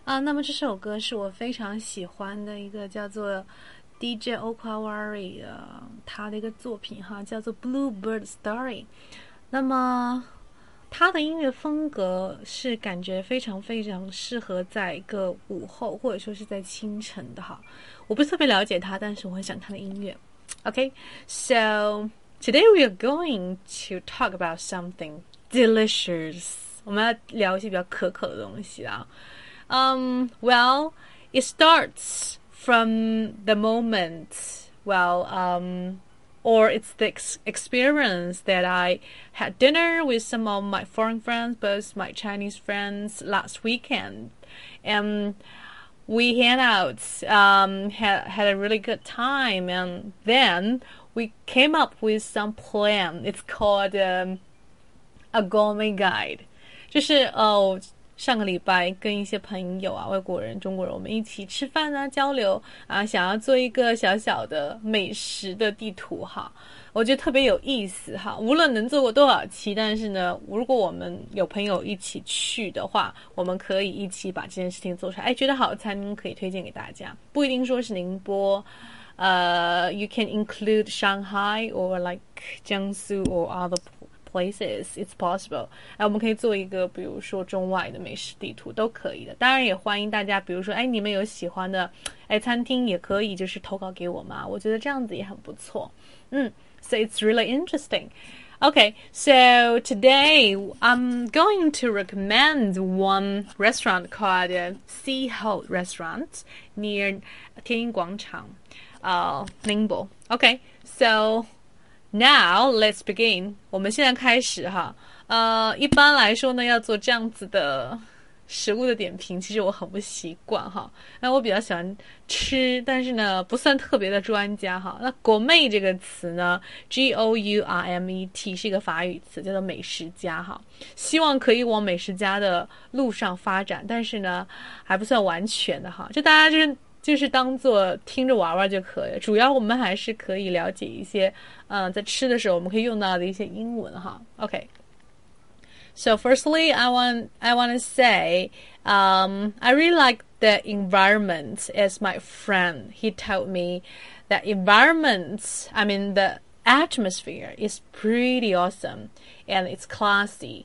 那么这首歌是我非常喜欢的一个叫做 DJ Okawari 的他的一个作品哈，叫做 Bluebird Story。那么他的音乐风格是感觉非常非常适合在一个午后或者说是在清晨的哈。我不是特别了解他，但是我很喜欢他的音乐。Okay, so today we are going to talk about something delicious. 我们要聊一些比较可口的东西啦。Well, it starts from the moment, or it's the experience that I had dinner with some of my foreign friends, both my Chinese friends last weekend. And we hang out, had a really good time, and then we came up with some plan. It's called a gourmet guide. 就是上个礼拜跟一些朋友啊，外国人、中国人，我们一起吃饭啊，交流啊，想要做一个小小的美食的地图哈，我觉得特别有意思哈。无论能做过多少期，但是呢，如果我们有朋友一起去的话，我们可以一起把这件事情做出来。觉得好的餐厅可以推荐给大家，不一定说是宁波。You can include Shanghai or like Jiangsu or other places, it's possible. 我们可以做一个比如说中外的美食地图都可以的。当然也欢迎大家比如说你们有喜欢的餐厅也可以就是投稿给我嘛，我觉得这样子也很不错。So it's really interesting. Okay, so today I'm going to recommend one restaurant called Sea-Hold Restaurant near 天音广场Ningbo. Okay, so now let's begin. 我们现在开始哈。一般来说呢，要做这样子的食物的点评，其实我很不习惯哈。那我比较喜欢吃，但是呢，不算特别的专家哈。那gourmet这个词呢 ，Gourmet 是一个法语词，叫做美食家哈。希望可以往美食家的路上发展，但是呢，还不算完全的哈。就大家就是当做听着玩玩就可以了，主要我们还是可以了解一些在吃的时候我们可以用到的一些英文哈。Okay.So firstly, I want to say, I really like the environment as my friend. He told me that the atmosphere is pretty awesome and it's classy.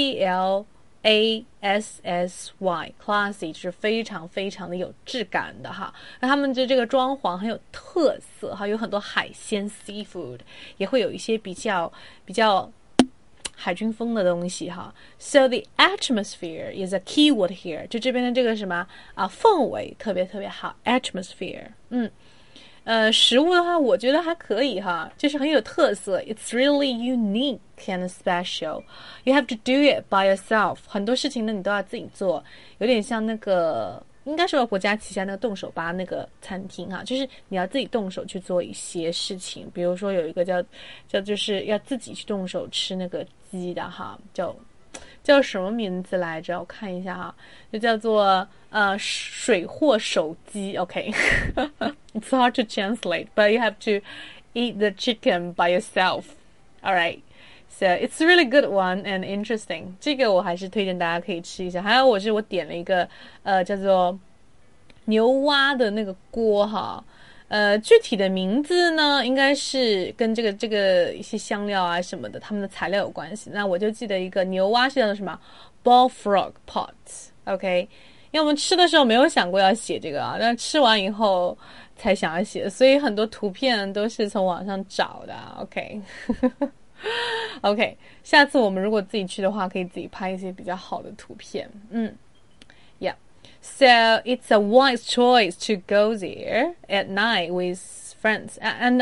CLASSY, classy 就是非常非常的有质感的哈。那他们的这个装潢很有特色哈，有很多海鲜 seafood， 也会有一些比较海军风的东西哈。So the atmosphere is a key word here. 就这边的这个什么氛围特别特别好 atmosphere。食物的话我觉得还可以哈，就是很有特色。It's really unique and special. You have to do it by yourself. 很多事情呢你都要自己做，有点像那个应该是国家旗下那个动手吧那个餐厅哈，就是你要自己动手去做一些事情，比如说有一个叫就是要自己去动手吃那个鸡的哈，叫什么名字来着？我看一下哈，就叫做水货手鸡。Okay, it's hard to translate, but you have to eat the chicken by yourself. All right. So it's a really good one and interesting. 这个我还是推荐大家可以吃一下。还有我点了一个叫做牛蛙的那个锅哈。具体的名字呢，应该是跟这个一些香料啊什么的，他们的材料有关系。那我就记得一个牛蛙是叫做什么 bullfrog pot。OK， 因为我们吃的时候没有想过要写这个啊，但吃完以后才想要写，所以很多图片都是从网上找的。OK， 下次我们如果自己去的话，可以自己拍一些比较好的图片。Yeah.So it's a wise choice to go there at night with friends. And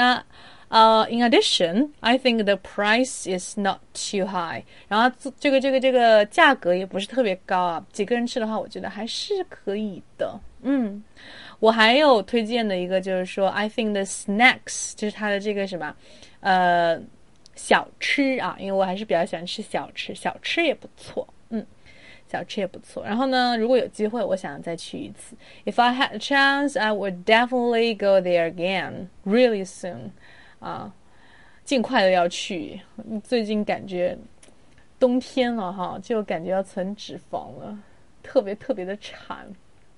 in addition, I think the price is not too high. 然后这个价格也不是特别高啊，几个人吃的话，我觉得还是可以的。我还有推荐的一个就是说 I think the snacks 就是它的这个什么小吃啊，因为我还是比较喜欢吃小吃也不错。小吃也不错。然后呢，如果有机会，我想再去一次。If I had a chance, I would definitely go there again, really soon. 尽快的要去。最近感觉冬天了哈，就感觉要存脂肪了，特别特别的馋。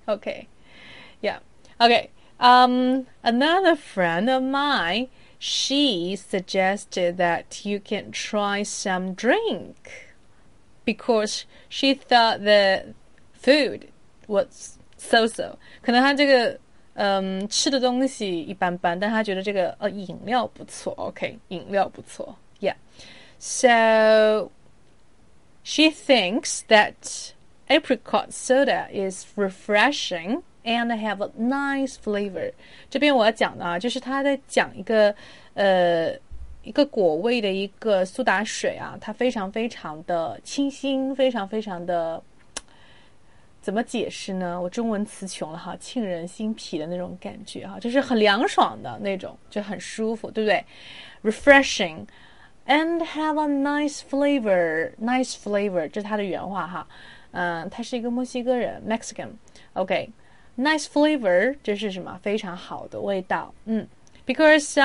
Okay. Yeah. Okay. Another friend of mine, she suggested that you can try some drink because she thought the food was so. 可能她这个吃的东西一般般，但她觉得这个饮料不错。OK， 饮料不错。Yeah. So she thinks that apricot soda is refreshing and have a nice flavor. 这边我要讲的就是他在讲一个果味的一个苏打水啊，它非常非常的清新，非常非常的怎么解释呢？我中文词穷了哈，沁人心脾的那种感觉哈，就是很凉爽的那种，就很舒服，对不对 ？Refreshing and have a nice flavor. Nice flavor， 这是他的原话哈。他是一个墨西哥人 ，Mexican。OK，nice flavor， 这是什么？非常好的味道。Because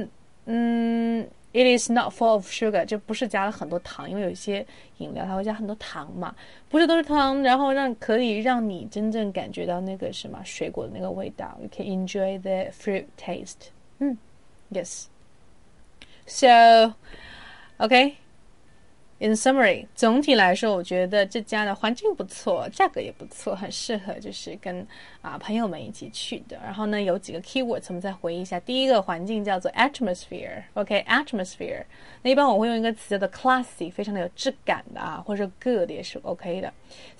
it is not full of sugar， 就不是加了很多糖，因为有一些饮料它会加很多糖嘛，不是都是糖，然后可以让你真正感觉到那个什么水果的那个味道。You can enjoy the fruit taste. Yes. So, okay.In summary， 总体来说，我觉得这家的环境不错，价格也不错，很适合就是跟朋友们一起去的。然后呢，有几个 keywords 我们再回忆一下。第一个环境叫做 atmosphere，OK，atmosphere。那一般我会用一个词叫做 classy， 非常的有质感的或者 good 也是 OK 的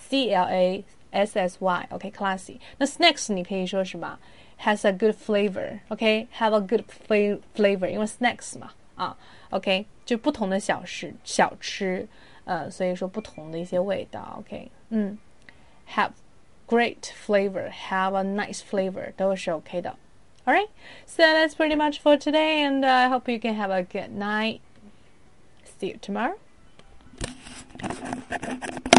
，CLASSY，OK，classy。那 snacks 你可以说什么 has a good flavor，OK，have a good flavor， 因为 snacks 嘛OK， 就不同的小吃，所以说不同的一些味道 OK，have great flavor, have a nice flavor 都是 OK 的 Alright, so that's pretty much for today and I hope you can have a good night. See you tomorrow.